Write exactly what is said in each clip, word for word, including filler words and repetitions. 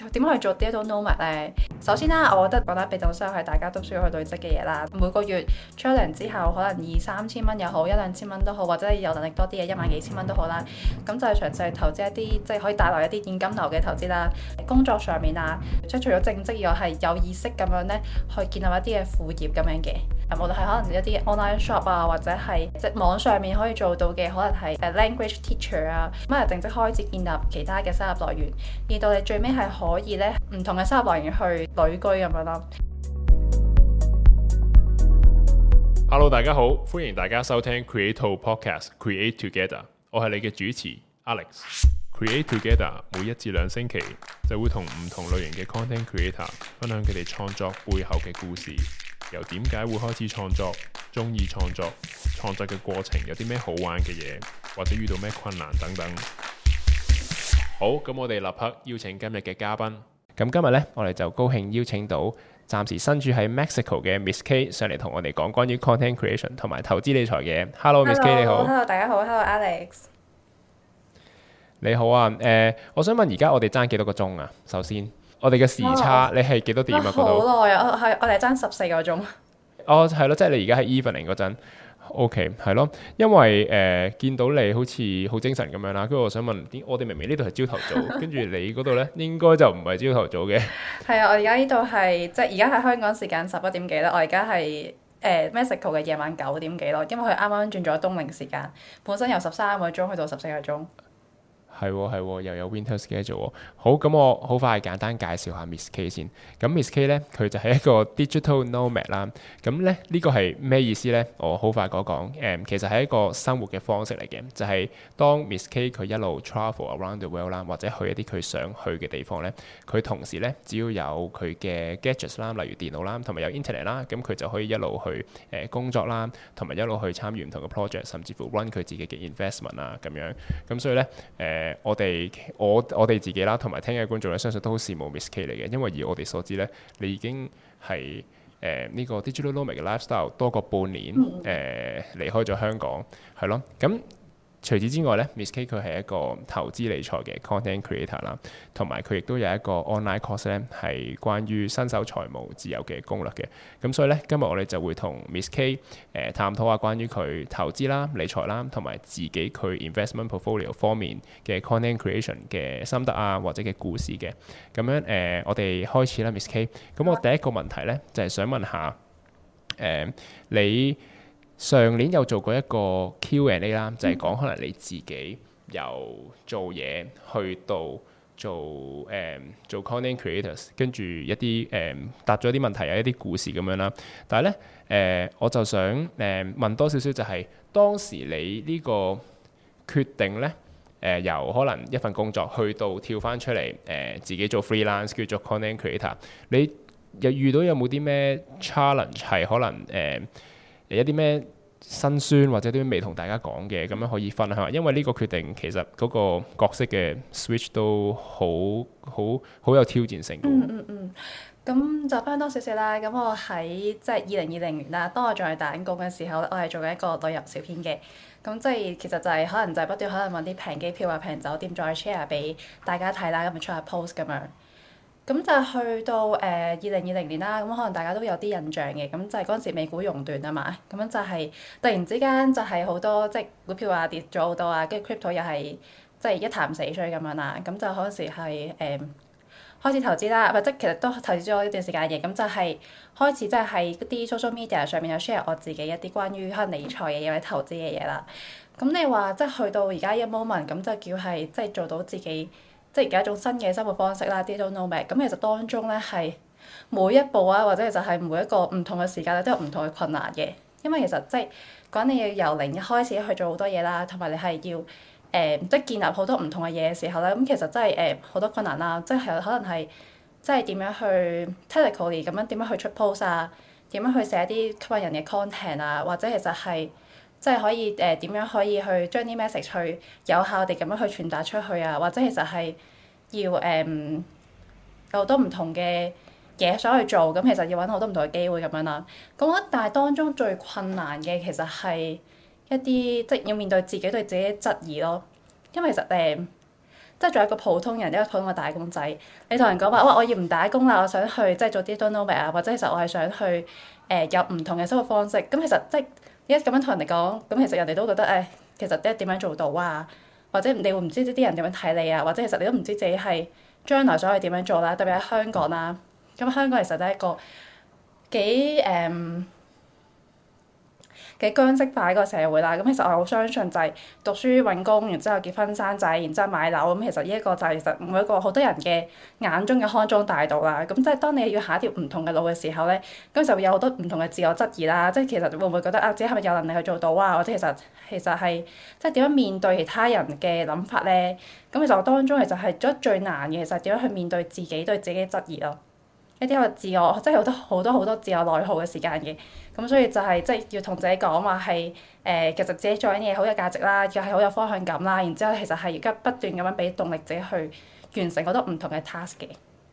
點樣去做 digital nomad 咧？首先啦，我覺得覺得被動收入係大家都需要去累積嘅嘢啦。每個月出糧之後，可能二三千蚊又好，一兩千蚊都好，或者有能力多啲嘅一萬幾千蚊都好啦。咁就係詳細投資一啲即係可以帶來一啲現金流嘅投資啦。工作上面啊，即係除咗正職以外，係有意識咁樣咧去建立一啲嘅副業咁樣嘅。無論係可能一啲 online shop 啊，或者係即係網上面可以做到嘅，可能係誒 language teacher 啊，咁啊正式開始建立其他嘅收入來源，而到你最尾係可以咧唔同嘅收入來源去旅居咁樣咯。 Hello， 大家好，歡迎大家收聽 Creato Podcast Create Together， 我係你嘅主持 Alex。Create Together 每一至兩星期就會同唔同類型嘅 content creator 分享佢哋創作背後嘅故事。由點解會開始創作，中意創作，創作嘅過程有啲咩好玩嘅嘢，或者遇到咩困難等等。好，咁我哋立刻邀請今日嘅嘉賓。 咁今日呢，我哋就高興邀請到暫時身處喺 Mexico 嘅 Miss K 上嚟同我哋講關於 content creation 同埋投資理財嘅。Hello，Miss K 你好。 Hello，大家好。Hello Alex。 你好啊，誒、呃，我想問而家我哋爭幾多個鐘啊？首先。我哋嘅時差，哦、你係幾多點啊？嗰度好耐啊，係我哋爭十四個鐘。 哦，係咯，即係你而家喺 evening 嗰陣 ，OK， 係咯。因為誒、呃、見到你好似好精神咁樣啦，跟住我想問，點我哋明明呢度係朝頭早，跟住你嗰度咧應該就唔係朝頭早嘅。係啊，我而家呢度係即係而家係香港時間十一點幾啦，我而家係誒 Mexico 嘅夜晚九點幾咯，因為佢啱啱轉咗冬令時間，本身由十三個鐘去到十四個鐘。 係喎係喎，又有 winter schedule 喎。好，咁我好快簡單介紹下 Miss K 先。咁 Miss K 咧，佢就係一個 digital nomad 啦。咁咧呢個係咩意思咧？我好快講講。誒、嗯，其實係一個生活嘅方式嚟嘅，就係、是、當 Miss K 佢一路 travel around the world 啦，或者去一啲佢想去嘅地方咧，佢同時咧只要有佢嘅 gadgets 啦，例如電腦啦，同埋有 internet 啦，咁佢就可以一路去誒、呃、工作啦，同埋一路去參與唔同嘅 project， 甚至乎 run 佢自己嘅 investment 啊咁樣。咁所以咧誒。呃我哋我我哋自己啦，同埋聽嘅觀眾咧，相信都好羨慕 Miss K 嚟嘅，因為以我哋所知咧，你已經係誒呢個 digital nomad 嘅 lifestyle 多過半年誒、呃、離開咗香港，係咯，咁。除此之外咧 ，Miss K 佢係一個投資理財嘅 content creator 啦，同埋佢亦都有一個 online course 咧，係關於新手財務自由嘅攻略嘅。咁所以咧，今日我哋就會同 Miss K 誒、呃、探討下關於佢投資啦、理財啦，同埋自己佢 investment portfolio 方面嘅 content creation 嘅心得啊，或者嘅故事嘅。咁樣誒、呃，我哋開始啦 ，Miss K。咁我第一個問題咧，就係、是、想問下誒、呃、你。上年有做過一個 Q and A 啦，就係講可能你自己由做嘢去到做誒、嗯、做 content creators， 跟住一啲誒答咗啲問題啊，一啲故事咁樣啦。但係咧誒，我就想誒、嗯、問多少少，就係當時你呢個決定咧誒、呃，由可能一份工作去到跳翻出嚟誒、呃，自己做 freelance 叫做 content creator， 你又遇到有冇啲咩 challenge 係可能誒？呃有一啲咩辛酸或者啲未同大家講嘅，咁樣可以分享。因為呢個決定其實嗰個角色嘅 switch 都好好好有挑戰性。 嗯嗯嗯。咁就翻多少少啦。咁我喺即係二零二零年啦，當我仲係打緊工嘅時候，我係做緊一個旅遊小編嘅。咁即係其實就係可能就係不斷可能揾啲平機票啊、平酒店再 share 俾大家睇啦，咁咪出下 post 咁樣。咁就去到誒二零二零年啦，咁可能大家都有啲印象嘅，咁就係嗰陣時美股熔斷啊嘛，咁樣就係突然之間就係好多即係股票啊跌咗好多啊，跟住 crypto 又係即係一潭死水咁樣啦，咁就嗰陣時係誒、呃、開始投資啦，或者其實都投資咗一段時間嘅，咁就係開始即係喺啲 social media 上面有 share 我自己一啲關於可能理財嘅嘢或者投資嘅嘢啦。咁你話即係去到而家一 moment，咁就叫係即係做到自己。即係有一種新嘅生活方式啦 digital nomad。咁其實當中咧係每一步啊，或者就係每一個唔同嘅時間咧，都有唔同嘅困難嘅。因為其實即係講你要由零一開始去做好多嘢啦，同埋你係要誒、呃、即係建立好多唔同嘅嘢嘅時候咧，咁其實真係誒好多困難啦。即係可能係即係點樣去 technically 咁樣點樣去出 post 啊，點樣去寫啲吸引人嘅 content 啊，或者其實係。即係可以誒點、呃、樣可以去將啲 message 去有效地咁樣去傳達出去啊，或者其實係要誒、呃、有好多唔同嘅嘢想去做，咁其實要揾好多唔同嘅機會咁樣啦。咁我覺得但係當中最困難嘅其實係一啲即係要面對自己對自己嘅質疑咯，因為其實誒、呃、 即係做一個普通人，一個普通嘅打工仔。你同人講話，哇！我要唔打工啦，我想去即係做 digital nomad 啊，或者其實我係想去誒、呃、有唔同嘅生活方式。咁其實即係一咁樣同人哋講，咁其實人哋都覺得誒、哎，其實即係點樣做到啊？或者你會唔知啲人點樣睇你啊？或者其實你都唔知自己係將來想去點樣做啦。特別喺香港啦，咁香港其實都係一個幾誒。嗯嘅僵式化一個社會啦，咁其實我好相信就係讀書揾工，然之後結婚生仔，然之後買樓，咁其實呢一個就係其實每一個好多人嘅眼中嘅康莊大道啦。咁即係當你要行一條唔同嘅路嘅時候咧，咁就會有好多唔同嘅自我質疑啦。即係其實會唔會覺得啊，自己係咪有能力去做到啊？或者其實其實係即係點樣面對其他人嘅諗法咧？咁其實我當中其實係覺得最難嘅，其實係點樣去面對自己對自己嘅質疑咯。一啲個自我，即係好多好多好多自我內耗嘅時間嘅，咁所以就係即係要同自己講話係誒，其實自己做緊嘢好有價值啦，又係好有方向感啦，然之後其實係而家不斷咁樣俾動力自己去完成好多唔同嘅 task 嘅。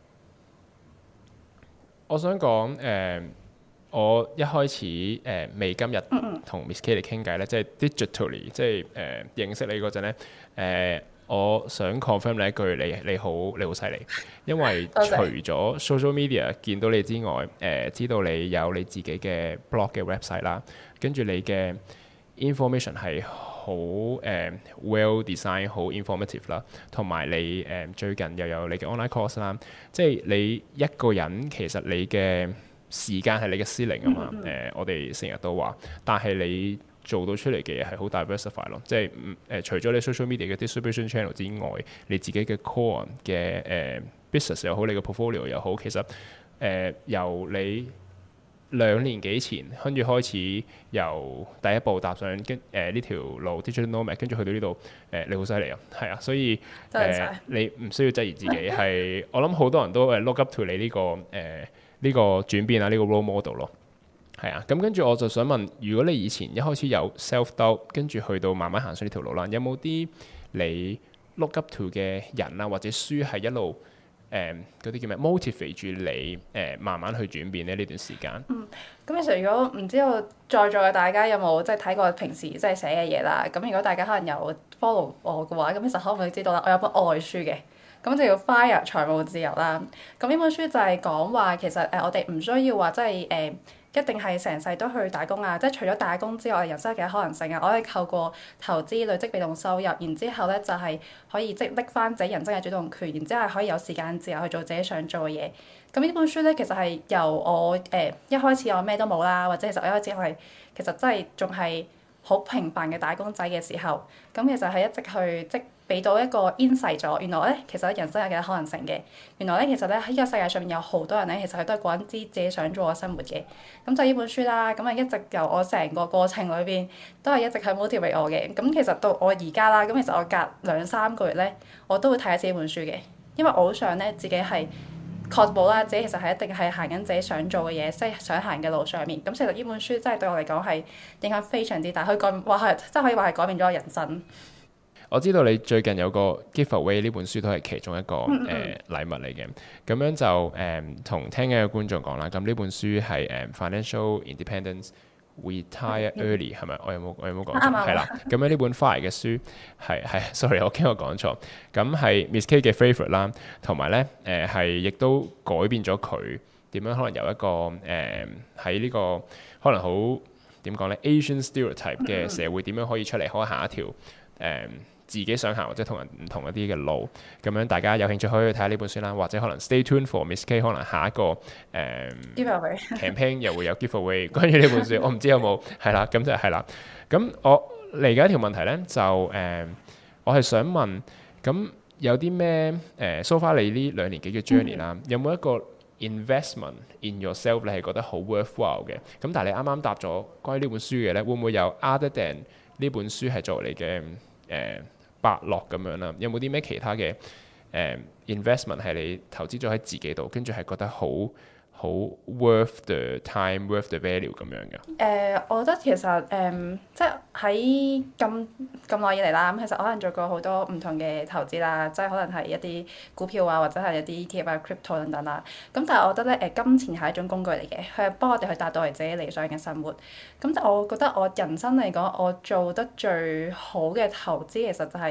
我想講誒、呃，我一開始誒、呃、未今日同 Miss K 嚟傾偈咧，即係 digitally，即係誒、呃、認識你嗰陣咧誒。呃我想 confirm 你一句，你你好你好犀利，因為除咗 social media 見到你之外，誒、呃、知道你有你自己嘅 blog 嘅 website 啦，跟住你嘅 information 係好誒、呃、well design 好 informative 啦，同埋你誒、呃、最近又有你嘅 online course 啦，即係你一個人其實你嘅時間係你嘅 ceiling 啊嘛，誒、呃、我哋成日都話，但係你做到出嚟嘅嘢係好 diversify 咯，即係唔誒除咗你 social media 嘅 distribution channel 之外，你自己嘅 core 嘅誒、呃、business 又好，你嘅 portfolio 又好，其實誒、呃、由你兩年幾前跟住開始由第一步踏上跟誒呢條路 digital nomad，跟住去到呢度誒你好犀利啊，係啊，所以誒、呃、你唔需要質疑自己，係我諗好多人都誒 look up to 你呢、這個誒呢、呃這個轉變啊，呢、這個 role model 咯。係啊，咁跟住我就想問，如果你以前一開始有 self doubt，跟住去到慢慢行上呢條路啦，有冇啲你 look up to 嘅人啊，或者書係一路誒嗰啲叫咩 motivate 住你誒、呃、慢慢去轉變咧呢段時間？嗯， 咁其實如果唔知道在座嘅大家有冇即係睇過平時即係寫嘅嘢啦，咁如果大家可能有 follow 我嘅話，咁其實可唔可以知道啦？我有本外書嘅，咁就叫 Fire 財務自由啦。咁呢本書就係講話其實誒、呃、我哋唔需要話即係誒。呃一定係成世都去打工啊！即係除咗打工之外，人生有幾多可能性啊？我可以透過投資累積被動收入，然之後咧就係、是、可以即係拎翻自己人生嘅主動權，然之後可以有時間自由去做自己想做嘅嘢。咁呢本書咧其實係由我誒、呃、一開始我咩都冇啦，或者其實我一開始我係其實真係仲係好平凡嘅打工仔嘅時候，咁其實係一直去即俾到一個 insight 咗，原來咧其實人生有幾多可能性嘅。原來咧其實咧喺呢個世界上面有好多人咧，其實佢都係過緊啲自己想做嘅生活嘅。咁就呢本書啦，咁啊一直由我成個過程裏邊都係一直係 motivate 我嘅。咁其實到我而家啦，咁其實我隔兩三個月咧，我都會睇一次呢本書嘅，因為我好想咧自己係確保啦，自己其實係一定係行緊自己想做嘅嘢，即係想行嘅路上面。咁其實呢本書真係對我嚟講係影響非常之大，可以改話係即係可以話係改變咗我人生。 我知道你最近有個 giveaway 呢本書都係其中一個誒、 嗯嗯呃、禮物嚟嘅，咁樣就誒同、呃、聽緊嘅觀眾講啦。咁呢本書係誒、呃、Financial Independence Retire Early 係咪、嗯？我有冇我有冇講錯？係啦、嗯，咁樣呢本 Fire 嘅書係係，sorry 我驚我講錯。咁係 Miss K 嘅 favourite 啦，同埋咧誒係亦都改變咗佢點樣可能由一個誒喺呢個可能好點講咧 Asian stereotype 嘅社會點樣可以出嚟可以行一條誒。呃自己想行或者同人唔同一啲嘅路，咁樣大家有興趣可以去睇下呢本書啦，或者可能 stay tuned for Miss K， 可能下一個誒、嗯、campaign 又會有 giveaway 關於呢本書，我唔知有冇係啦，咁就係啦。咁我嚟緊一條問題咧，就誒、嗯、我係想問，咁有啲咩誒 so far 你呢兩年幾嘅 journey 啦，有冇一個 investment in yourself 你係覺得好 worthwhile 嘅？咁但係你啱啱答咗關於呢本書嘅咧，會唔會有 other than 呢本書係作為你嘅誒？呃伯樂咁樣啦，有冇啲咩其他嘅誒、呃、investment 係你投資咗喺自己度，跟住係覺得好好 worth the time，worth the value 咁樣嘅？誒、 呃，我覺得其實誒、呃，即係喺咁咁耐以嚟啦，咁其實我可能做過好多唔同嘅投資啦，即係可能係一啲股票啊，或者係一啲 E T F 啊、crypto 等等啦。咁但係我覺得咧，誒金錢係一種工具嚟嘅，佢係幫我哋去達到我哋自己理想嘅生活。咁但係我覺得我人生嚟講，我做得最好嘅投資其實就係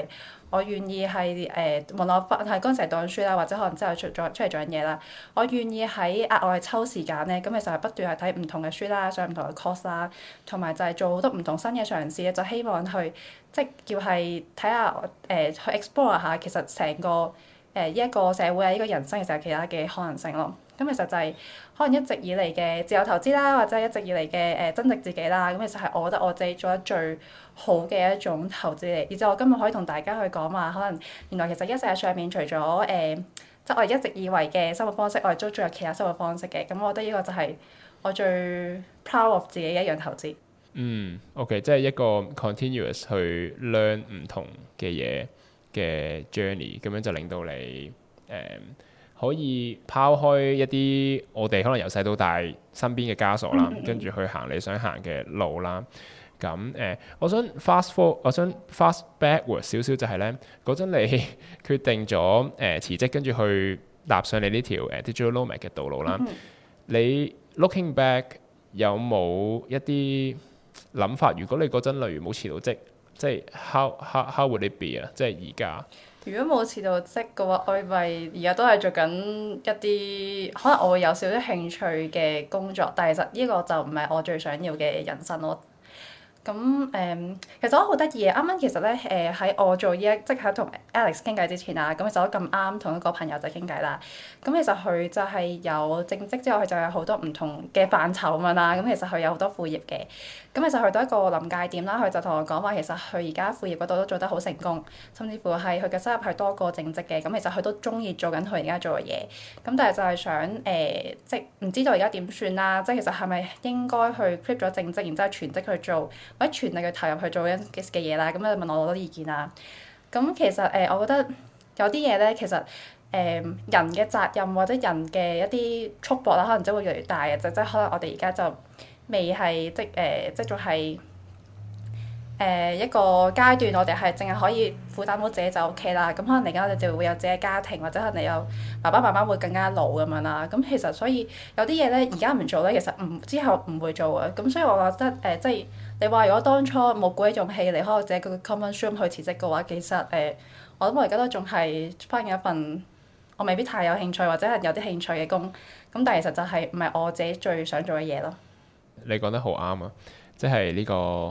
我願意係誒、呃，無論我翻係嗰陣時讀緊書啦，或者可能之後出咗出嚟做緊嘢啦，我願意喺額外抽時間咧，咁其實係不斷係睇唔同嘅書啦，上唔同嘅 course 啦，同埋就係做好多唔同新嘅嘗試咧，就希望去即係叫係睇下誒去 explore 下其實成個誒呢一個社會啊，呢、這個人生其實有其他嘅可能性咯。咁其實就係可能一直以嚟嘅自由投資啦，或者一直以嚟嘅誒增值自己啦，咁其實係我覺得我自己做得最好嘅一種投資嚟。而且我今日可以同大家去講話，可能原來其實一世上面除咗誒、呃，即係我哋一直以為嘅生活方式，我哋都仲有其他生活方式嘅。咁我覺得呢個就係我最 proud of 自己一樣投資。 嗯，OK，即係一個 continuous 去 learn 唔同嘅嘢嘅 journey，咁樣就令到你誒、嗯可以拋開一啲我哋可能由細到大身邊嘅枷鎖啦，跟住去行你想行嘅路啦。咁誒、呃，我想 fast forward，我想 fast backward 少少就係咧，嗰陣你決定咗誒、呃、辭職，跟住去踏上你呢條誒 digital nomad 嘅道路啦。你 looking back 有冇一啲諗法？如果你嗰陣例如冇辭到職，即係 how how how would it be 啊？即係而家。 如果冇辭到職嘅話，我咪而家都係做緊一啲可能我會有少少興趣嘅工作，但係其實呢個就唔係我最想要嘅人生咯。咁誒、嗯，其實我好得意嘅，啱啱其實咧誒喺我做呢一即係同 Alex 傾偈之前啊，咁其實我咁啱同一個朋友就傾偈啦。咁其實佢就係有正職之後，佢就有好多唔同嘅範疇咁樣啦。咁其實佢有好多副業嘅。咁其實去到一個臨界點啦，佢就同我講話，其實佢而家副業嗰度都做得好成功，甚至乎係佢嘅收入係多過正職嘅。咁其實佢都中意做緊佢而家做嘅嘢。咁但係就係想誒、呃，即係唔知道而家點算啦。即係其實係咪應該去 quit 咗正職，然之後全職去做？或者全力去投入去做緊嘅嘅嘢啦，咁就問我好多意見啦。咁其實誒、呃，我覺得有啲嘢咧，其實誒、呃、人嘅責任或者人嘅一啲束縛啦，可能真會越嚟越大嘅，就即係可能我哋而家就未係即誒、呃，即仲係誒一個階段，我哋係淨係可以負擔到自己就 O K 啦。咁可能嚟緊我哋就會有自己嘅家庭，或者可能你有爸爸媽媽會更加老咁樣啦。咁其實所以有啲嘢咧，而家唔做咧，其實唔之後唔會做嘅。咁所以我覺得誒、呃，即係。你話如果當初冇鼓起勇氣離開我自己個 comfort zone 去辭職嘅話，其實誒、呃，我諗我而家都仲係返緊一份我未必太有興趣或者係有啲興趣嘅工，咁但係其實就係唔係我自己最想做嘅嘢咯。 你講得好啱啊！即係呢個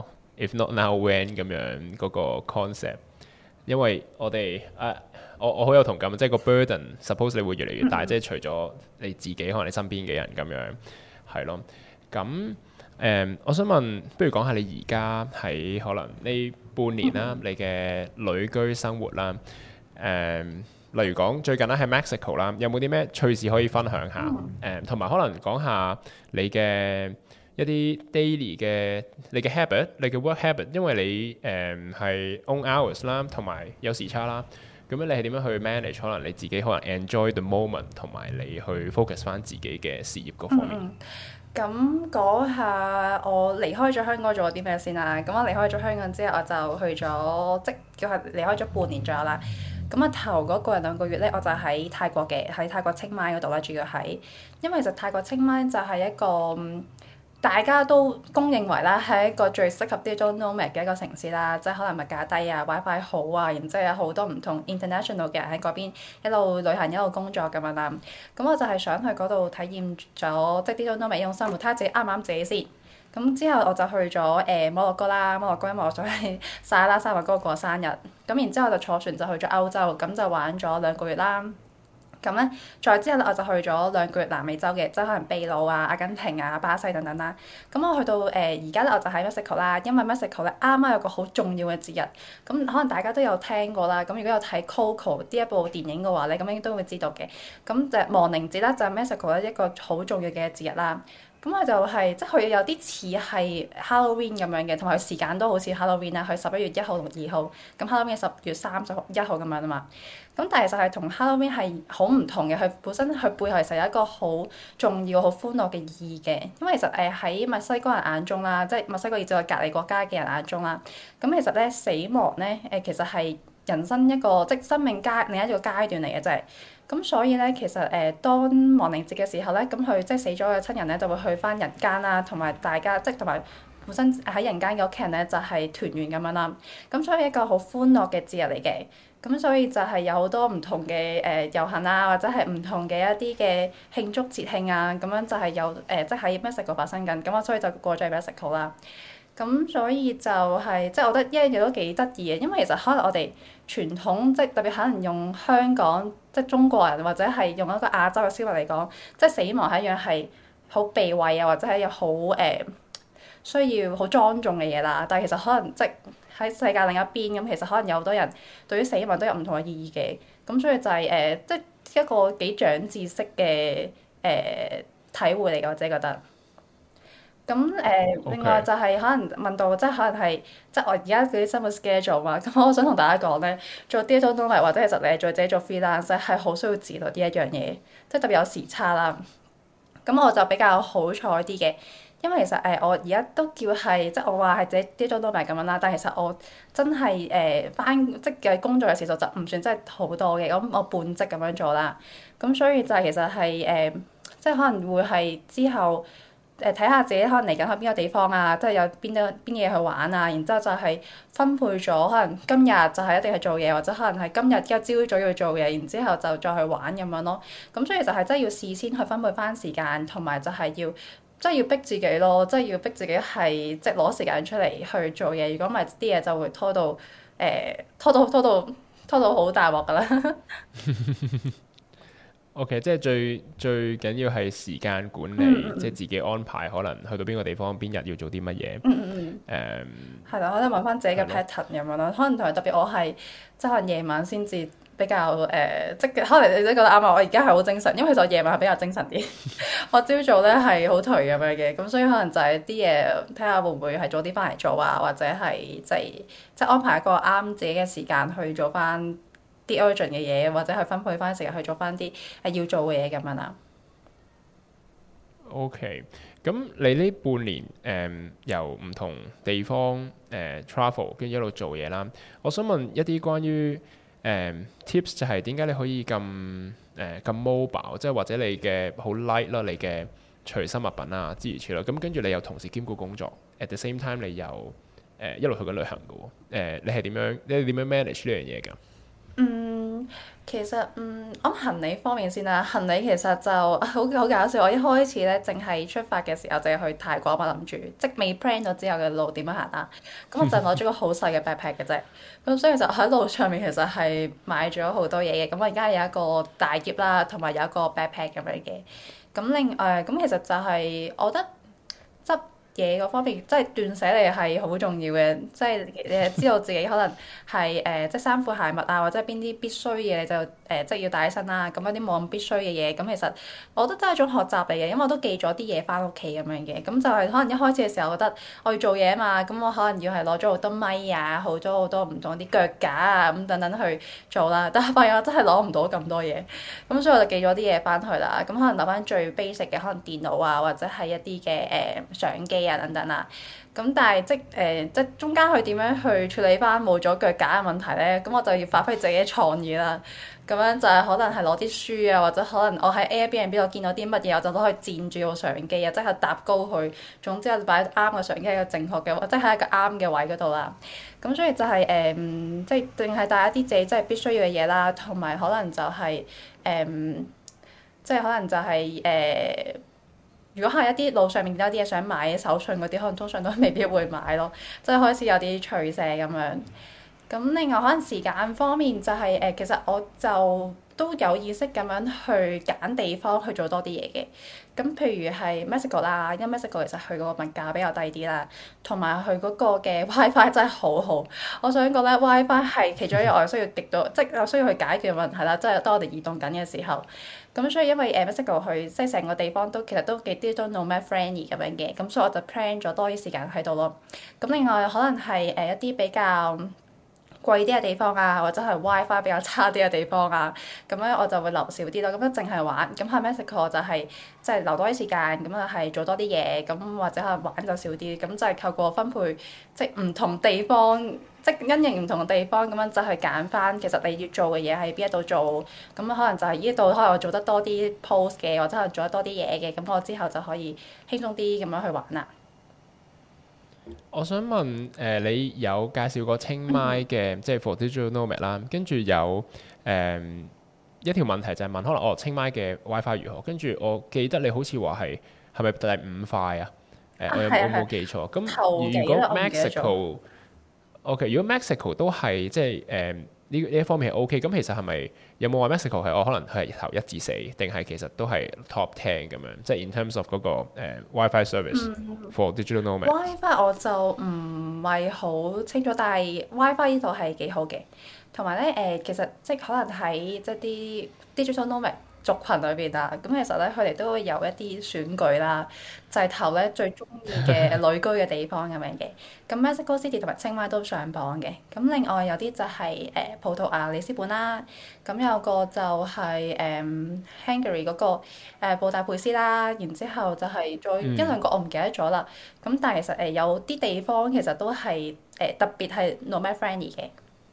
if not now when 咁樣嗰個 concept，因為我哋誒、啊、我我好有同感，即係個 burden suppose 你會越嚟越大，即係除咗你自己，可能你身邊嘅人咁樣係咯，咁。誒、嗯，我想問，不如講下你而家喺可能呢半年啦，你嘅旅居生活啦，誒、嗯，例如講最近咧喺 Mexico 啦，有冇啲咩趣事可以分享下？誒、嗯，同埋可能講下你嘅一啲 daily 嘅你嘅 habit，你嘅 work habit，因為你誒係、嗯、own hours 啦，同埋有時差啦，咁樣你係點樣去 manage？可能你自己可能 enjoy the moment，同埋你去 focus 翻自己嘅事業嗰方面。嗯咁講下我離開咗香港做咗啲咩先啦。咁我離開咗香港之後，我就去咗即叫係離開咗半年左右啦。咁啊頭嗰個人兩個月咧，我就喺泰國嘅，喺泰國清邁嗰度啦，主要係因為其實泰國清邁就係一個大家都公認為啦係一個最適合 digital nomad 嘅一個城市啦，即係可能物價低啊 ，WiFi 好啊，然之後有好多唔同 international 嘅人喺嗰邊一路旅行一路工作咁樣啦。咁我就係想去嗰度體驗咗即係 digital nomad 呢種生活，睇下自己啱唔啱自己先。咁之後我就去咗誒、呃、摩洛哥啦，摩洛哥因為我想去撒拉沙華哥過生日，咁然之後就坐船就去咗歐洲，咁就玩咗兩個月啦。咁咧，再之後咧，我就去咗兩個月南美洲嘅，即係可能秘魯啊、阿根廷啊、巴西等等啦。咁我去到誒而家咧，我就喺 Mexico 啦，因為 Mexico 咧啱啱有個好重要嘅節日，咁可能大家都有聽過啦。咁如果有睇 Coco 呢一部電影嘅話咧，咁應該都會知道嘅。咁就亡靈節啦，就係 Mexico 咧一個好重要嘅節日啦。咁佢就係、是、即係佢有啲似係 Halloween 咁樣嘅，同埋佢時間都好似 Halloween 啦。佢十一月一號同二號，咁 Halloween 係十月三十一號咁樣啊嘛。咁但係其實係同 Halloween 係好唔同嘅，佢本身佢背後其實有一個好重要、好歡樂嘅意義嘅。因為其實誒喺墨西哥人眼中啦，即係墨西哥以至係隔離國家嘅人眼中啦，咁其實咧死亡咧誒其實係人生一個即係生命階另一個階段嚟嘅，真係。咁所以咧，其實誒、呃，當亡靈節嘅時候咧，咁佢即係死咗嘅親人咧，就會去翻人間啦，同埋大家即係同埋本身喺人間嘅屋企人咧就係團圓咁樣啦。咁所以一個好歡樂嘅節日嚟嘅。咁所以就係有好多唔同嘅誒遊行啊，或者係唔同嘅一啲嘅慶祝節慶啊，咁樣就係有誒、呃，即係喺 Mexico 發生緊。咁我所以就過咗去 Mexico 啦。咁所以就係、是、即係我覺得一樣嘢都幾得意嘅，因為其實可能我哋傳統即係特別可能用香港即係中國人或者係用一個亞洲嘅思維嚟講，即係死亡係一樣係好避諱啊，或者係一個好誒、呃、需要好莊重嘅嘢啦。但係其實可能即係喺世界另一邊咁，其實可能有好多人對於死亡都有唔同嘅意義嘅。咁所以就係、是、誒、呃，即係一個幾長知識嘅誒、呃、體會嚟嘅，我自己覺得。咁誒，呃、 Okay. 另外就係可能問到，即係可能係即係我而家嗰啲生活 schedule 嘛。咁我想同大家講咧，做 digital nomad 或者其實你係做自己做 freelance 係好需要自律呢一樣嘢，即係特別有時差啦。咁我就比較好彩啲嘅。因為其實誒、呃、我而家都叫係即係我話係自己 digital nomad咁樣啦，但係其實我真係誒返即嘅工作嘅時數就唔算真係好多嘅，咁我半職咁樣做啦。咁所以就係其實係誒、呃、即係可能會係之後誒睇下自己可能嚟緊去邊個地方啊，即係有邊啲邊嘢去玩啊，然之後就係分配咗可能今日就係一定係做嘢，或者可能係今日一朝早要做嘢，然之後就再去玩咁樣咯。咁所以就係真係要事先去分配返時間，同埋就係要。即係要逼自己咯，即係要逼自己係即係攞時間出嚟去做嘢。如果唔係啲嘢就會拖到誒、呃、拖到拖到拖到好大鑊㗎啦。 O.K. 即係最最緊要係時間管理，嗯嗯即係自己安排，可能去到邊個地方，邊日要做啲乜嘢。 嗯嗯嗯。誒。係啦，可能揾翻自己嘅 pattern 咁樣咯。可能同埋特別我係即係可能夜晚先至。比較誒、呃，即係可能你都覺得啱啊！我而家係好精神，因為其實我夜晚係比較精神啲。我朝早咧係好頹咁樣嘅，咁所以可能就係啲嘢睇下會唔會係早啲翻嚟做啊，或者係即係即係安排一個啱自己嘅時間去做翻啲 urgent 嘅嘢，或者去分配翻時間去做翻啲係要做嘅嘢咁樣啦。 OK，咁你呢半年誒、嗯、由唔同地方誒、呃、travel 跟住一路做嘢啦，我想問一啲關於誒、um, tips 就係點解你可以咁誒咁 mobile，即係或者你嘅好 light 啦，你嘅隨身物品啊諸如此類。咁跟住你又同時兼顧工作 ，at the same time 你又誒、呃、一路去緊旅行嘅喎、呃。你係點樣？你係點樣 manage 呢樣嘢㗎？嗯， 其實嗯，我行李方面先啦。行李其實就好好搞笑。我一開始咧，淨係出發嘅時候，淨係去泰國嘛，諗住即未 plan 咗之後嘅路點樣行啦。咁我就攞咗個好細嘅 backpack 嘅啫。咁所以就喺路上面其實係買咗好多嘢嘅。咁我而家有一個大篋啦，同埋有一個 backpack 咁樣嘅。咁另誒咁其實就係、是、我覺得執嘢嗰方面，即係斷捨離係好重要嘅，即係你係知道自己可能係誒、呃，即係衫褲鞋襪啊，或者邊啲必須嘅你就誒、呃，即係要帶起身啦。咁有啲冇咁必須嘅嘢，咁其實我覺得都係一種學習嚟嘅，因為我都寄咗啲嘢翻屋企咁樣嘅。咁就係可能一開始嘅時候覺得我要做嘢啊嘛，咁我可能要係攞咗好多咪啊，好多好多唔同啲腳架啊，咁等等去做啦。但係發現我真係攞唔到咁多嘢，咁所以我就寄咗啲嘢翻去啦。咁可能留翻最 basic 嘅，可能電腦啊，或者係一啲嘅誒相機啊等等啦，咁但係即誒、呃、即中間去點樣去處理翻冇咗腳架嘅問題咧？咁我就要發揮自己嘅創意啦。咁樣就係可能係攞啲書啊，或者可能我喺 Airbnb 度見到啲乜嘢，我就攞去墊住個相機啊，即係搭高佢。總之我就擺啱個相機喺個正確嘅，或者喺一個啱嘅位嗰度啦。咁所以就係、是、誒、呃，即係淨係帶一啲自己真係必須要嘅嘢啦，同埋可能就係、是、誒、呃，即係可能就係、是、誒。呃如果係一啲路上面有啲嘢想買手信嗰啲，可能通常都未必會買咯，即係開始有啲取捨咁樣。咁另外可能時間方面就係、是、誒、呃，其實我就都有意識咁樣去揀地方去做多啲嘢嘅。咁譬如係 Mexico 啦，因為 Mexico 其實佢個物價比較低啲啦，同埋佢嗰個嘅 WiFi 真係好好。我想講咧，WiFi 係其中一個我需要極度，即係我需要去解決嘅問題啦。即係當我哋移動緊嘅時候，咁所以因為誒 Mexico 佢即係成個地方都其實都幾啲都 nomad friendly 咁樣嘅，咁所以我就 plan 咗多啲時間喺度咯。咁另外可能係誒一啲比較貴啲嘅地方啊，或者係 WiFi 比較差啲嘅地方啊，咁樣我就會留少啲咯。咁樣淨係玩，咁喺 Mexico 就係即係留多啲時間，咁就係做多啲嘢，咁或者係玩就少啲。咁就係透過分配，即係唔同地方，即係因應唔同嘅地方，咁樣就去揀翻其實你要做嘅嘢喺邊一度做。咁可能就係呢度可能我做得多啲 post 嘅，或者係做得多啲嘢嘅，咁我之後就可以輕鬆啲咁樣去玩啦。 我想問誒、呃，你有介紹過清邁嘅，即係 for digital nomad 啦，跟住有誒、呃、一條問題就係問可能哦清邁嘅 WiFi 如何？跟住我記得你好似話係係咪第五塊啊？誒、呃，我有冇記錯？咁如果 Mexico，OK， 如果 Mexico 都係即係誒呢呢一方面係 OK，咁其實係咪有冇話 Mexico 係我可能係頭一至四，定係其實都係 top ten 咁樣？即係 in terms of 嗰、那個、呃、WiFi service、嗯、for digital nomad。 WiFi 我就唔係好清楚，但係 WiFi 呢度係幾好嘅，同埋咧誒，其實即係可能喺即係啲 digital nomad族群裏邊啊，咁其實咧佢哋都會有一啲選舉啦，就係、是、投咧最中意嘅旅居嘅地方咁樣嘅。咁 Mexico City 同埋清邁都上榜嘅。咁另外有啲就係、是、誒、呃、葡萄牙里斯本啦，咁有個就係、是、誒、呃、Hungary 嗰、那個、呃、布達佩斯啦，然之後就係再一兩個我唔記得咗啦。咁、嗯、但係其實誒有啲地方其實都係誒、呃、特別係 nomad friendly 嘅。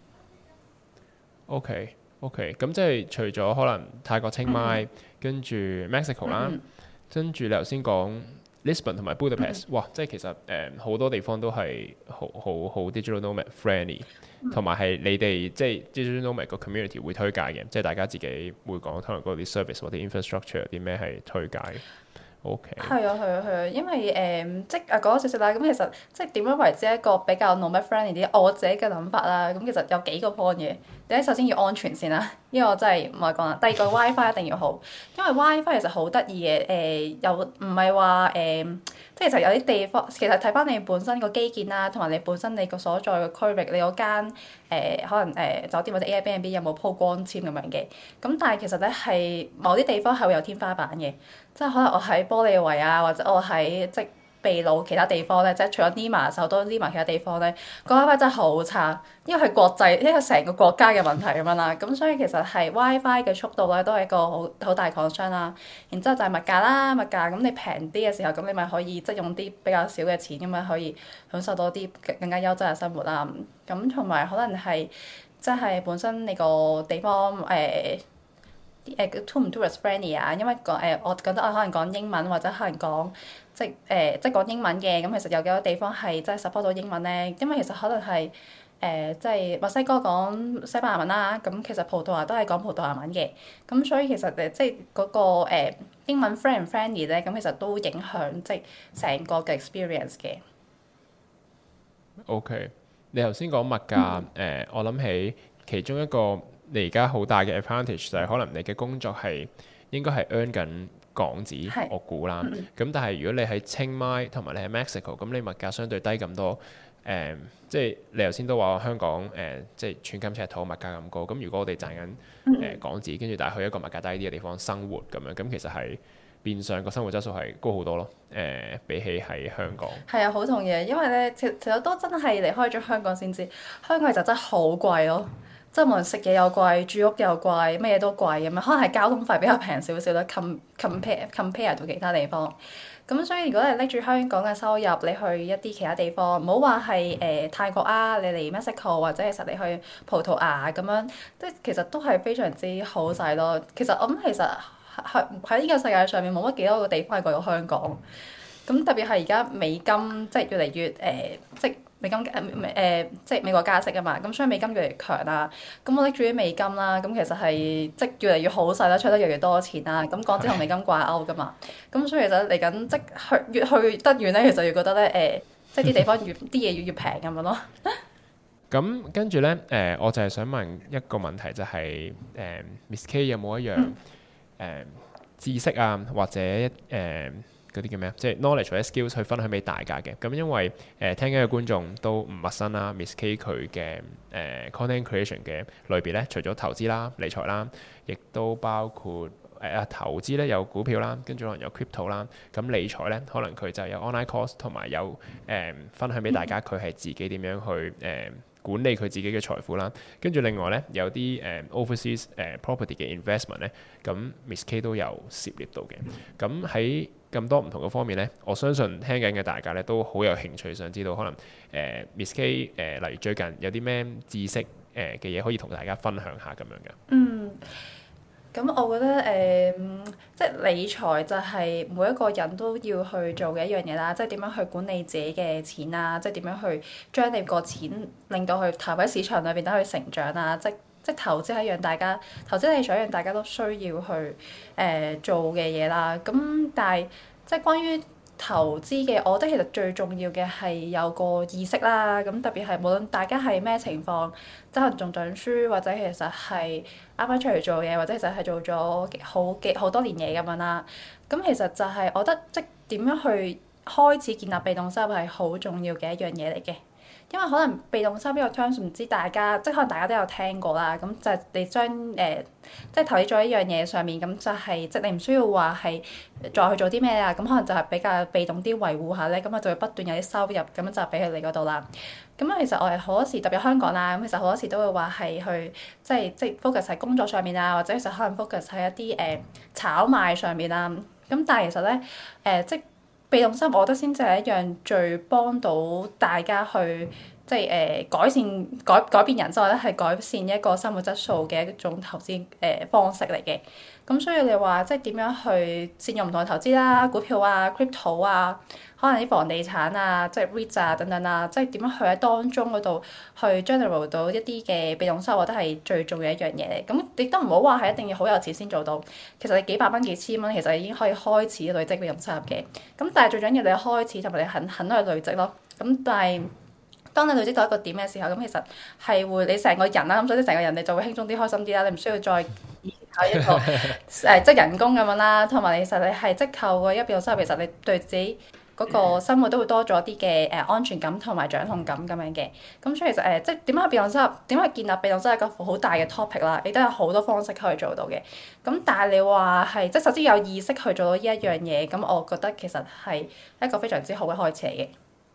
OK。OK，咁即係除咗可能泰國清邁，嗯、跟住 Mexico 啦，嗯、跟住你頭先講 Lisbon 同埋 Budapest，、嗯、哇！即係其實誒好、呃、多地方都係好好好 digital nomad friendly，同埋係你哋即係 digital nomad 個 community 會推介嘅，即係大家自己會講可能嗰啲 service 或者 infrastructure 有啲咩係推介。OK。係啊係啊係啊，因為誒、呃、即係啊講少少啦，咁其實即係點樣為之一個比較 nomad friendly 啲？我自己嘅諗法啦，咁其實有幾個 point 嘅。第一，首先要安全先啦，呢個我真係唔係講啦。第二個 WiFi 一定要好，因為 WiFi 其實好得意嘅，誒、呃、又唔係話誒，即係其實有啲地方其實睇翻你本身個基建啦，同埋你本身你個所在嘅區域，你嗰間誒可能誒、呃、酒店或者 Airbnb 有冇鋪光纖咁樣嘅。咁但係其實咧係某啲地方係會有天花板嘅，即係可能我喺玻利維亞或者我喺即秘魯其他地方咧，即係除咗 Lima 首都 Lima 其他地方咧，個 WiFi 真係好差，因為係國際，因為成個國家嘅問題咁樣啦。咁所以其實係 WiFi 嘅速度咧，都係一個好好大 concern 啦。然之後就係物價啦，物價咁你平啲嘅時候，咁你咪可以即係用啲比較少嘅錢咁樣可以享受到啲更加優質嘅生活啦。咁同埋可能係即係本身你個地方誒。呃誒 to 唔 tourist friendly 啊，因為講誒、呃，我覺得我可能講英文或者可能講即係誒、呃，即係講英文嘅，咁其實有幾多地方係真係 support 到英文咧？因為其實可能係誒、呃，即係墨西哥講西班牙文啦，咁其實葡萄牙都係講葡萄牙文嘅，咁所以其實誒，即係嗰、那個、呃、英文 friend 唔 friendly 咧，咁其實都影響即係成個嘅 experience 嘅。 OK，你頭先講物價誒、嗯呃，我諗起其中一個。你而家好大嘅 advantage 就係可能你嘅工作係應該係 earn 緊港紙，是我估啦。咁、嗯、但係如果你喺清邁同埋你喺 Mexico，咁你物價相對低咁多，誒、呃，即係你頭先都話香港誒、呃，即係寸金尺土物價咁高。咁如果我哋賺緊誒、呃、港紙，跟住但係去一個物價低啲嘅地方生活咁樣，咁其實係變相個生活質素係高好多咯。誒、呃，比起喺香港。係啊，好同意，因為咧，其實都真係離開咗香港先知，香港其實真係好貴咯。即係無論食嘢又貴，住屋又貴，乜嘢都貴咁樣。可能係交通費比較平少少啦，compare compare 到其他地方。咁所以如果你拎住香港嘅收入，你去一啲其他地方，唔好話係誒泰國啊，你嚟 Mexico 或者其實你去葡萄牙咁樣，即係其實都係非常之好使咯。其實我諗其實喺喺呢個世界上面冇乜幾多個地方係貴過香港。咁特別係而家美金即係越嚟越誒、呃，即係。美金誒誒、呃、即係美國加息啊嘛，咁所以美金越嚟越強啦。咁我拎住啲美金啦，咁其實係即係越嚟越好使啦，出得越嚟越多錢啦。咁港紙同美金掛鈎噶嘛，咁所以其實嚟緊即去越去得遠咧，其實越覺得咧誒、呃，即係啲地方越啲嘢越越平咁樣咯。 咁跟住咧誒，我就係想問一個問題，就係、是、誒、呃、Miss K 有冇一樣誒、呃、知識啊，或者誒？呃嗰啲叫咩啊？即係 knowledge 或者 skills 去分享俾大家嘅。咁因為誒、呃、聽緊嘅觀眾都唔陌生啦，Miss K 佢嘅誒 content creation 嘅類別咧，除咗投資啦、理財啦，亦都包括誒啊、呃、投資咧有股票啦，跟住可能有 crypto 啦。咁理財咧，可能佢就有 online course 同埋有誒、呃、分享俾大家，佢係自己點樣去誒、呃、管理佢自己嘅財富啦。跟住另外咧有啲誒、呃、overseas 誒、呃、property 嘅 investment 咧，咁 Miss K 都有涉獵到嘅。咁喺咁多唔同嘅方面咧，我相信聽緊嘅大家咧都好有興趣，想知道可能誒、呃、Miss K 誒、呃，例如最近有啲咩知識誒嘅嘢可以同大家分享下咁樣嘅。 嗯， 咁我覺得誒、呃，即係理財就係每一個人都要去做嘅一樣嘢啦，即係點樣去管理自己嘅錢啊，即係點樣去將你個錢令到去投喺市場裏邊等佢成長啊，即即投資係一樣大家投資理財一樣大家都需要去誒、呃、做嘅嘢啦。咁但係即係關於投資嘅，我覺得其實最重要嘅係有個意識啦。咁特別係無論大家係咩情況，即係可能仲讀緊書，或者其實係啱啱出嚟做嘢，或者其實係做咗好幾好多年嘢咁樣啦。咁其實就係我覺得即點樣去開始建立被動收入係好重要嘅一樣嘢嚟嘅。因為可能被動收入呢個 terms 唔知大家，即係可能大家都有聽過啦。咁就係你將誒、呃，即係投資咗一樣嘢上面，咁就係、是、即係你唔需要話係再去做啲咩啊。咁可能就係比較被動啲維護下咧，咁我就會不斷有啲收入，咁樣就俾佢哋嗰度啦。咁其實我係好多時，特別香港啦，咁其實好多時都會話係去即係即係 focus 喺工作上面啊，或者其實可能 focus 喺一啲誒、呃、炒賣上面啊。咁但係其實咧誒、呃，即係被動收入，我覺得先至係一樣最幫到大家去。即係誒、呃、改善改改變人生，或者係改善一個生活質素嘅一種投資誒、呃、方式嚟嘅。咁所以你話即係點樣去善用唔同嘅投資啦，股票啊、crypto 啊，可能啲房地產啊，即係 REITs 啊等等啊，即係點樣去喺當中嗰度去 generate 到一啲嘅被動收入，我覺得係最重要一樣嘢嚟。咁亦都唔好話係一定要好有錢先做到。其實你幾百蚊、幾千蚊，其實已經可以開始累積被動收入嘅。咁但係最緊要你開始同埋你肯肯去累積咯。咁但係當你累積到一個點嘅時候，咁其實係會你成個人啦，咁所以成個人你就會輕鬆啲、開心啲啦。你唔需要再靠一個誒、呃、即係人工咁樣啦，同埋你其實你係即靠個一被動收入，其實你對自己嗰個生活都會多咗啲嘅誒安全感同埋掌控感咁樣嘅。咁所以其實誒、呃、即係點樣去被動收入？點樣去建立被動收入一個好大嘅 topic 啦，亦都有好多方式可以做到嘅。咁但係你話係即係首先有意識去做到呢一樣嘢，咁我覺得其實係一個非常之好嘅開始嚟嘅。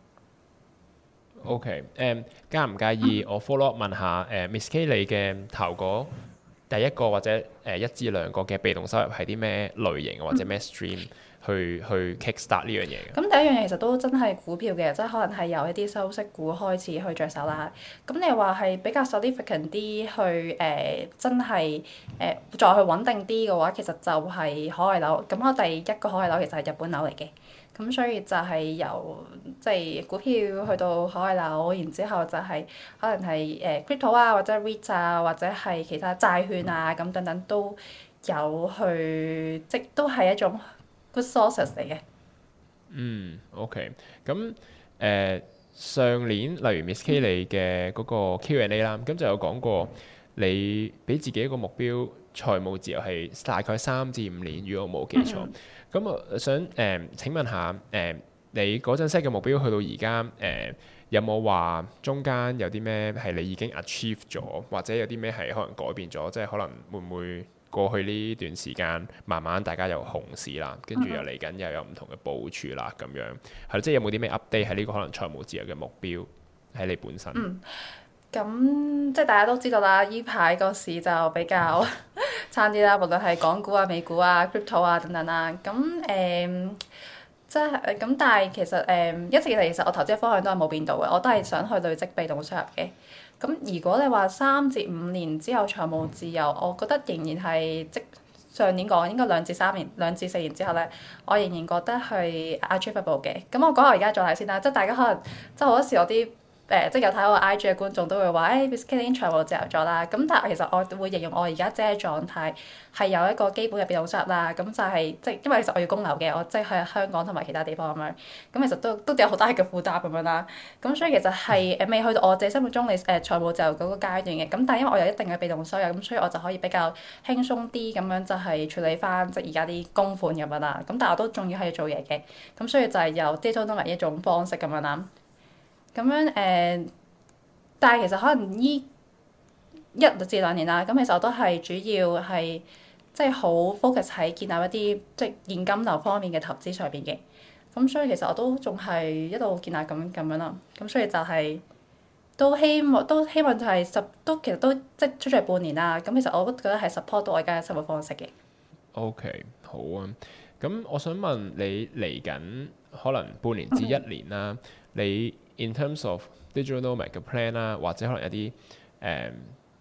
O.K. 誒、um, 介唔介意我 follow up 問下誒、uh, Miss K 你嘅頭嗰第一個或者誒、uh, 一至兩個嘅被動收入係啲咩類型或者咩 stream 去去 kickstart 呢樣嘢嘅？ 咁第一樣嘢其實都真係股票嘅，即係可能係由一啲收息股開始去着手啦。咁你話係比較 significant 啲去誒、呃，真係誒、呃、再去穩定啲嘅話，其實就係海外樓。咁我第一個海外樓其實係日本樓嚟嘅。咁所以就係由即係股票去到海外樓，然之後就係可能係誒 crypto 啊，或者 REIT 啊，或者係其他債券啊，咁等等都有去，即都係一種 good sources 嚟嘅。 嗯 ，OK。咁誒上年例如 Miss K 你嘅嗰個 Q and A 啦，咁就有講過你俾自己一個目標，財務自由係大概三至五年，如果我冇記錯。咁我想誒、呃、請問下誒、呃、你嗰陣 set 嘅目標去到而家誒有冇話中間有啲咩係你已經 achieve 咗，或者有啲咩係可能改變咗？即係可能會唔會過去呢段時間慢慢大家又熊市啦，跟住又嚟緊又有唔同嘅部署啦咁樣，係即係有冇啲咩 update 喺呢個可能財務自由嘅目標喺你本身？ 嗯咁即係大家都知道啦，依排個市就比較差啲啦，無論係港股啊、美股啊、crypto 啊等等啦。咁誒、嗯，即係咁，但係其實誒、嗯、一直以嚟，其實我投資嘅方向都係冇變到嘅，我都係想去累積被動收入嘅。咁如果你話三至五年之後財務自由，我覺得仍然係即上年講應該兩至三年、兩至四年之後咧，我仍然覺得係 achievable 嘅。咁我講下而家狀態先啦，即係大家可能即係好多時我啲。誒、呃、即係有睇我 I G 嘅觀眾都會話，誒 Miss K 已經財務自由咗啦。咁但係其實我會形容我而家即係狀態係有一個基本嘅被動收入啦。咁就係、是、即係因為其實我要供樓嘅，我即係喺香港同埋其他地方咁樣。咁其實都都有好大嘅負擔咁樣啦。咁所以其實係誒未去到我自己心目中你誒、呃、財務自由嗰個階段嘅。咁但係因為我有一定嘅被動收入，咁所以我就可以比較輕鬆啲咁樣就係處理翻即係而家啲供款咁樣啦。咁但係我都仲要係做嘢嘅。咁所以就係由 digital nomad 一種方式咁樣啦。咁樣誒。呃但係其實可能依一至兩年啦，咁其實我都係主要係即係好 focus 喺建立一啲即係現金流方面嘅投資上邊嘅。咁所以其實我都仲係一路建立咁咁樣啦。咁所以就係、是、都希望都希望就係十都其實都即係出咗嚟半年啦。咁其實我都覺得係 support 到我而家嘅生活方式嘅。 OK，好啊。咁我想問你嚟緊可能半年至一年啦，你 in terms of digital nomad 嘅 plan 啦，或者可能有啲誒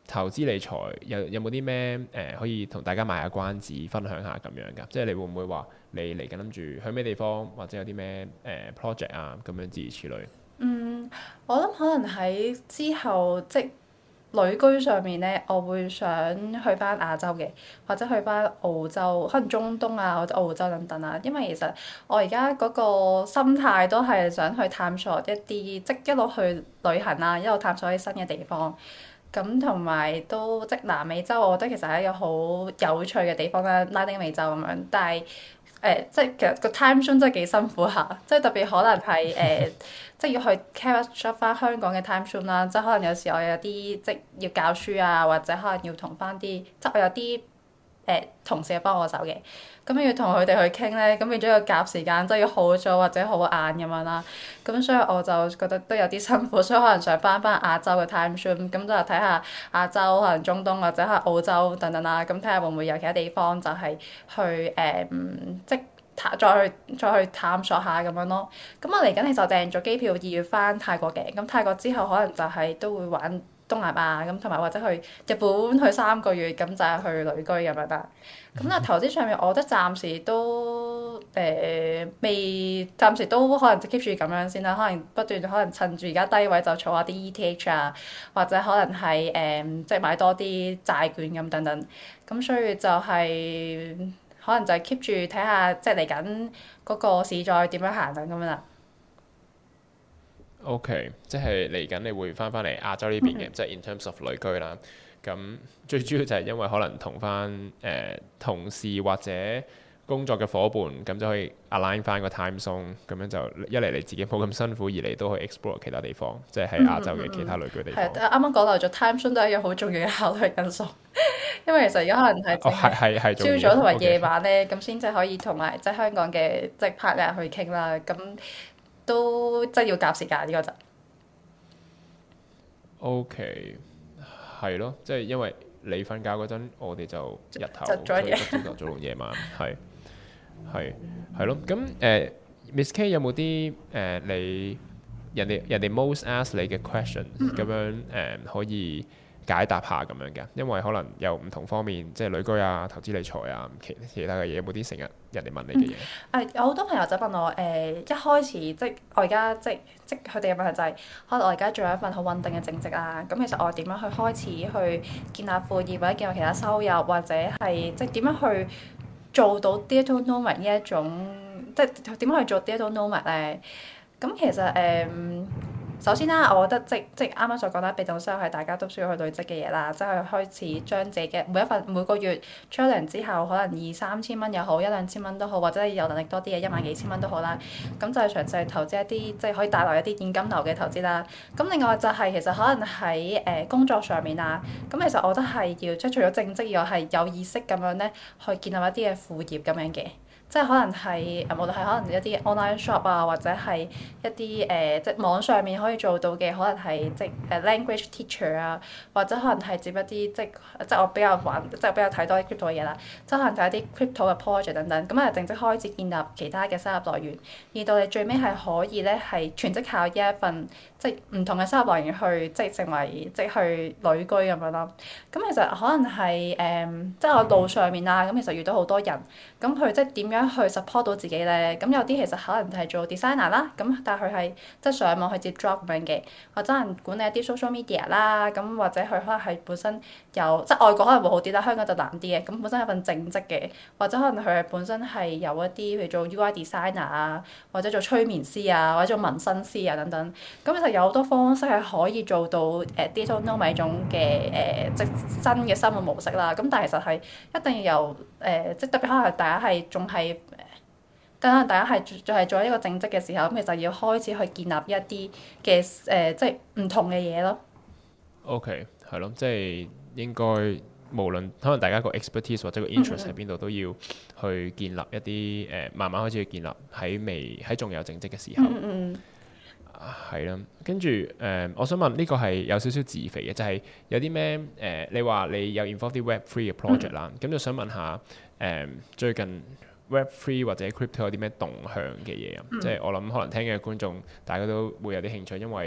投資理財有有冇啲咩誒可以同大家賣下關子，分享下咁樣㗎？即係你會唔會話你嚟緊諗住去咩地方，或者有啲咩誒 project 啊咁樣諸如此類？ 嗯，我諗可能喺之後即旅居上面咧，我會想去翻亞洲嘅，或者去翻澳洲，可能中東啊或者澳洲等等啊。因為其實我而家嗰個心態都係想去探索一啲，即一路去旅行啊，一路探索啲新嘅地方。咁同埋都即南美洲，我覺得其實係一個好有趣嘅地方啦，拉丁美洲咁樣。但係誒、呃，即其實個 time zone 真係幾辛苦下，即特別可能係誒。呃即要去 catch up 翻香港嘅 time zone 啦，即可能有時我有啲即要教書啊，或者可能要同翻啲即我有啲誒、呃、同事幫我手嘅，咁要同佢哋去傾咧，咁變咗要夾時間，即要好早或者好晏咁樣啦。咁所以我就覺得都有啲辛苦，所以可能想翻翻亞洲嘅 time zone，咁就睇下亞洲可能中東或者係澳洲等等啦，咁睇下會唔會有其他地方就係去誒、呃、即。再去再去探索下咁樣咯。咁我嚟緊其實訂咗機票，二月翻泰國嘅。咁泰國之後可能就係都會玩東南亞咁，同埋或者去日本去三個月，咁就係去旅居咁樣啦。咁啊投資上面，我覺得暫時都誒、呃、未，暫時都可能就 keep 住咁樣先啦。可能不斷可能趁住而家低位就儲下啲 E T H 啊，或者可能係誒、呃、即係買多啲債券咁等等。咁所以就係、是。可能就係 keep 住睇下，即係嚟緊嗰個市再點樣行緊咁樣啦。 OK，即係嚟緊你會翻返嚟亞洲呢邊嘅，即係、mm hmm. in terms of 旅居啦。咁最主要就係因為可能同翻誒同事或者工作嘅伙伴，咁就可以 align 翻個 time zone，咁樣就一嚟你自己冇咁辛苦，二嚟都可以 explore 其他地方，即係喺亞洲嘅其他旅居地方。係、 mm，啱啱講漏咗 time zone 都係一個好重要嘅考慮因素。因為其實而家可能係朝早同埋夜晚咧，咁先至可以同埋即係香港嘅即係 partner 去傾啦。咁都即係要夾時間呢個就。 OK，係咯，即係因為你瞓覺嗰陣，我哋就日頭， 所以朝頭早同夜晚，係係係咯。咁誒、呃、Miss K 有冇啲誒你人哋人哋 most ask 你嘅 questions 咁樣誒、呃、可以解答下咁樣嘅？因為可能有唔同方面，即係旅居啊、投資理財啊、其其他嘅嘢，有冇啲成日人哋問你嘅嘢？誒、 嗯，有好多朋友就問我誒、呃，一開始即係我而家即即佢哋嘅問題就係、是，可能我而家做一份好穩定嘅正職啦。咁其實我點樣去開始去建立副業或者建立其他收入，或者係即係點樣去做到 digital nomad 呢一種，即係點樣去做 digital nomad 咧？咁其實誒。呃首先啦，我覺得即即啱啱所講啦，被動收入係大家都需要去累積嘅嘢啦，即係開始將自己嘅每一份每個月出糧之後，可能二三千蚊又好，一兩千蚊都好，或者係有能力多啲嘅一萬幾千蚊都好啦。咁就係詳細投資一啲即係可以帶來一啲現金流嘅投資啦。咁另外就係其實可能喺誒工作上面啊，咁其實我覺得係要即係除咗正職以外，係有意識咁樣咧去建立一啲嘅副業咁樣嘅。即係可能係誒，無論係可能一啲 online shop 啊，或者係一啲誒、呃，即係網上面可以做到嘅，可能係即係誒 language teacher 啊，或者可能係接一啲即係即係我比較玩，即係比較睇多啲 crypto 嘅嘢啦。即係可能睇一啲 crypto 嘅 project 等等，咁啊正式開始建立其他嘅收入來源，而到你最尾係可以咧係全職靠呢一份即係唔同嘅收入來源去即係成為即係去旅居咁樣咯。咁其實可能係誒、呃，即係我路上面啊，咁其實遇到好多人，咁佢即係點樣去 support 到自己咧？咁有啲其實可能係做 designer 啦，咁但係佢係即係上網去接 job 咁樣嘅，或者係管理一啲 social media 啦，咁或者佢可能係本身有即係外國可能會好啲啦，香港就難啲嘅。咁本身有份正職嘅，或者可能佢係本身係有一啲譬如做 U I designer 啊，或者做催眠師啊，或者做紋身師啊等等。咁其實有好多方式係可以做到誒 digital nomad 種嘅誒即新嘅生活模式啦。咁但係其實係一定要由誒、呃、即特別可能大家係仲係。等大家係仲係做一個正職嘅時候，咁其實要開始去建立一啲嘅誒，即係唔同嘅嘢咯。 OK，係咯，即係應該無論可能大家個 expertise 或者個 interest 喺邊度，都要去建立一啲誒、呃，慢慢開始去建立喺未喺仲有正職嘅時候。嗯嗯。係啦，跟住誒，我想問呢、這個係有少少自肥嘅，就係、是、有啲咩誒？你話你有 involve 啲 web three 嘅 project 啦、嗯，咁就想問下誒、呃，最近 web three 或者 crypto 有啲咩動向嘅嘢啊？嗯、即係我諗可能聽嘅觀眾大家都會有啲興趣，因為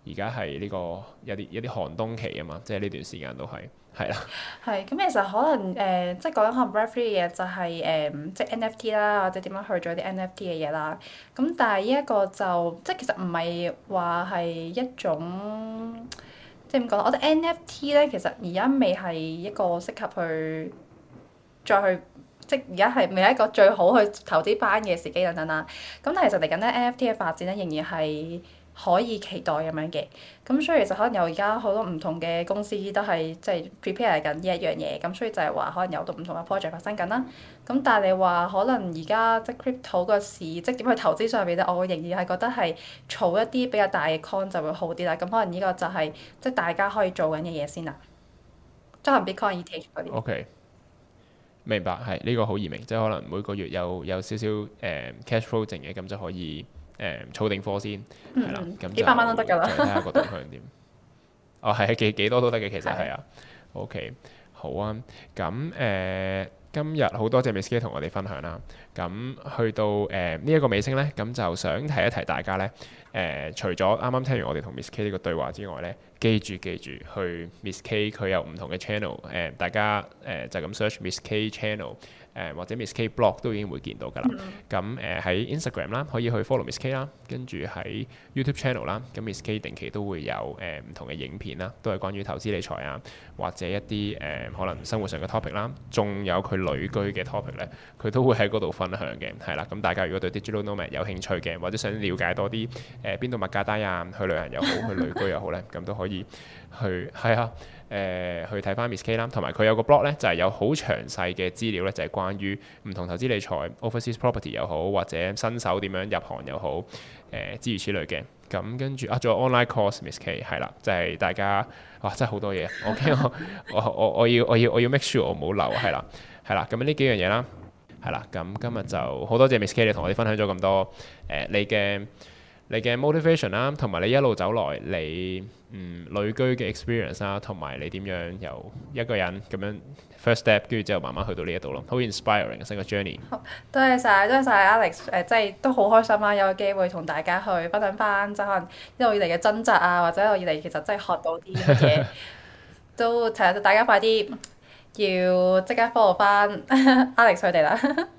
而家係呢個有啲有啲寒冬期啊嘛，即係呢段時間都係係啦。 係咁，其實可能誒、呃，即係講緊可能 Web 三嘅嘢就係、是、誒、呃，即係 N F T 啦，或者點樣去做啲 N F T 嘅嘢啦。咁但係呢一個就即係其實唔係話係一種即係點講？我覺得 N F T 咧，其實而家未係一個適合去再去。即而家係未係一個最好去投資班嘅時機等等啦。咁但係其實嚟緊咧 N F T 嘅發展咧仍然係可以期待咁樣嘅。咁所以其實可能有而家好多唔同嘅公司都係即係 prepare 緊呢一樣嘢。咁所以就係話可能有好多唔同嘅 project 發生緊啦。咁但係你話可能而家即係 crypto 個市即係點去投資上面咧，我仍然係覺得係儲一啲比較大嘅 coin 就會好啲啦。咁可能呢個就係、是、即係大家可以做緊嘅嘢先啦。即係可能 Bitcoin、E T H 嗰啲。 OK。明白，係呢、這個好易明，即係可能每個月有有少少誒、呃、cash flow 剩嘅，咁就可以誒儲、呃、定貨先，係啦、嗯，咁幾百蚊都得㗎啦。 睇下個動向點。哦，係幾幾多都得嘅，其實係啊。OK，好啊，咁誒、呃、今日好多謝 Miss K 同我哋分享啦。咁去到誒呢一個尾聲咧，咁就想提一提大家咧，誒、呃、除咗啱啱聽完我哋同 Miss K 呢個對話之外咧。記住記住，去 Miss K 佢有唔同嘅 channel，誒、呃、大家誒、呃、就咁 search Miss K channel，誒、呃、或者 Miss K blog 都已經會見到㗎啦。咁誒喺 Instagram 啦，可以去 follow Miss K 啦，跟住喺 YouTube channel 啦，咁 Miss K 定期都會有誒唔、呃、同嘅影片啦，都係關於投資理財啊，或者一啲誒、呃、可能生活上嘅 topic 啦，仲有佢旅居嘅 topic 咧，佢都會喺嗰度分享嘅，係啦。咁大家如果對 Digital Nomad 有興趣嘅，或者想了解多啲誒邊度物價低啊，去旅行又好，去旅居又好咧，咁都可以。去係啊，誒、呃、去睇翻 Miss K 啦，同埋佢有個 blog 咧，就係、是、有好詳細嘅資料咧，就係、是、關於唔同投資理財、overseas property 又好，或者新手點樣入行又好，誒、呃、諸如此類嘅。咁跟住啊，仲有 online course Miss K 係啦，就係、是、大家哇，真係好多嘢。我驚我我我我要我要我要 make sure 我冇漏係啦，係啦。咁呢幾樣嘢啦，係啦。咁今日就好多謝 Miss K 你同我哋分享咗咁多誒、呃、你嘅。你嘅 motivation 啦，同埋你一路走來你嗯旅居嘅 experience 啦，同埋你點樣由一個人咁樣 first step，跟住之後慢慢去到呢一度咯，好 inspiring 成個 journey。 好，多謝晒，多謝晒 Alex，誒、呃，即係都好開心啦，有個機會同大家去分享翻，即係可能一路以嚟嘅掙扎啊，或者一路以嚟其實真係學到啲乜嘢，都其實大家快啲要即刻 follow 翻 Alex 佢哋啦。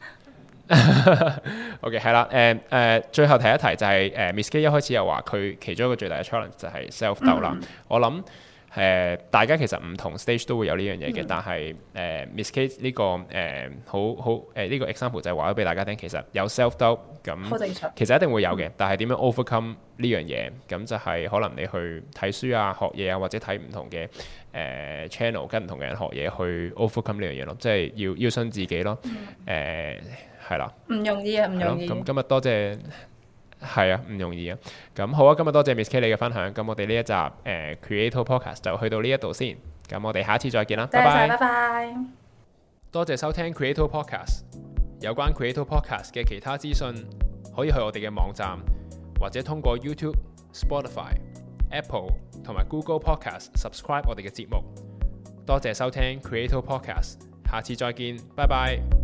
OK 係啦，誒、呃、誒、呃，最後提一提就係、是、誒、呃、Miss K 一開始又話佢其中一個最大嘅 challenge 就係 self doubt 啦。嗯、我諗誒、呃、大家其實唔同 stage 都會有呢樣嘢嘅，嗯、但係誒、呃、Miss K 呢、這個誒、呃、好好誒呢、呃這個 example 就係話咗俾大家聽，其實有 self doubt 咁，其實一定會有嘅，嗯、但係點樣 overcome 呢樣嘢？咁就係可能你去睇書啊、學嘢啊，或者睇唔同嘅誒、呃、channel 跟唔同嘅人學嘢去 overcome 呢樣嘢咯，即係要要信自己咯，誒、嗯。呃係啦，唔容易啊，唔容易。 咁今日多謝，係啊，唔容易啊。咁好啊，今日多謝 Miss K 你嘅分享。咁我哋呢一集誒、呃、Creator Podcast 就去到呢一度先。咁我哋下次再見啦，拜拜。 拜拜。 多謝收聽 Creator Podcast。有關 Creator Podcast 嘅其他資訊，可以去我哋嘅網站，或者通過 YouTube、Spotify、Apple 同埋 Google Podcast subscribe 我哋嘅節目。多謝收聽 Creator Podcast。下次再見，拜拜。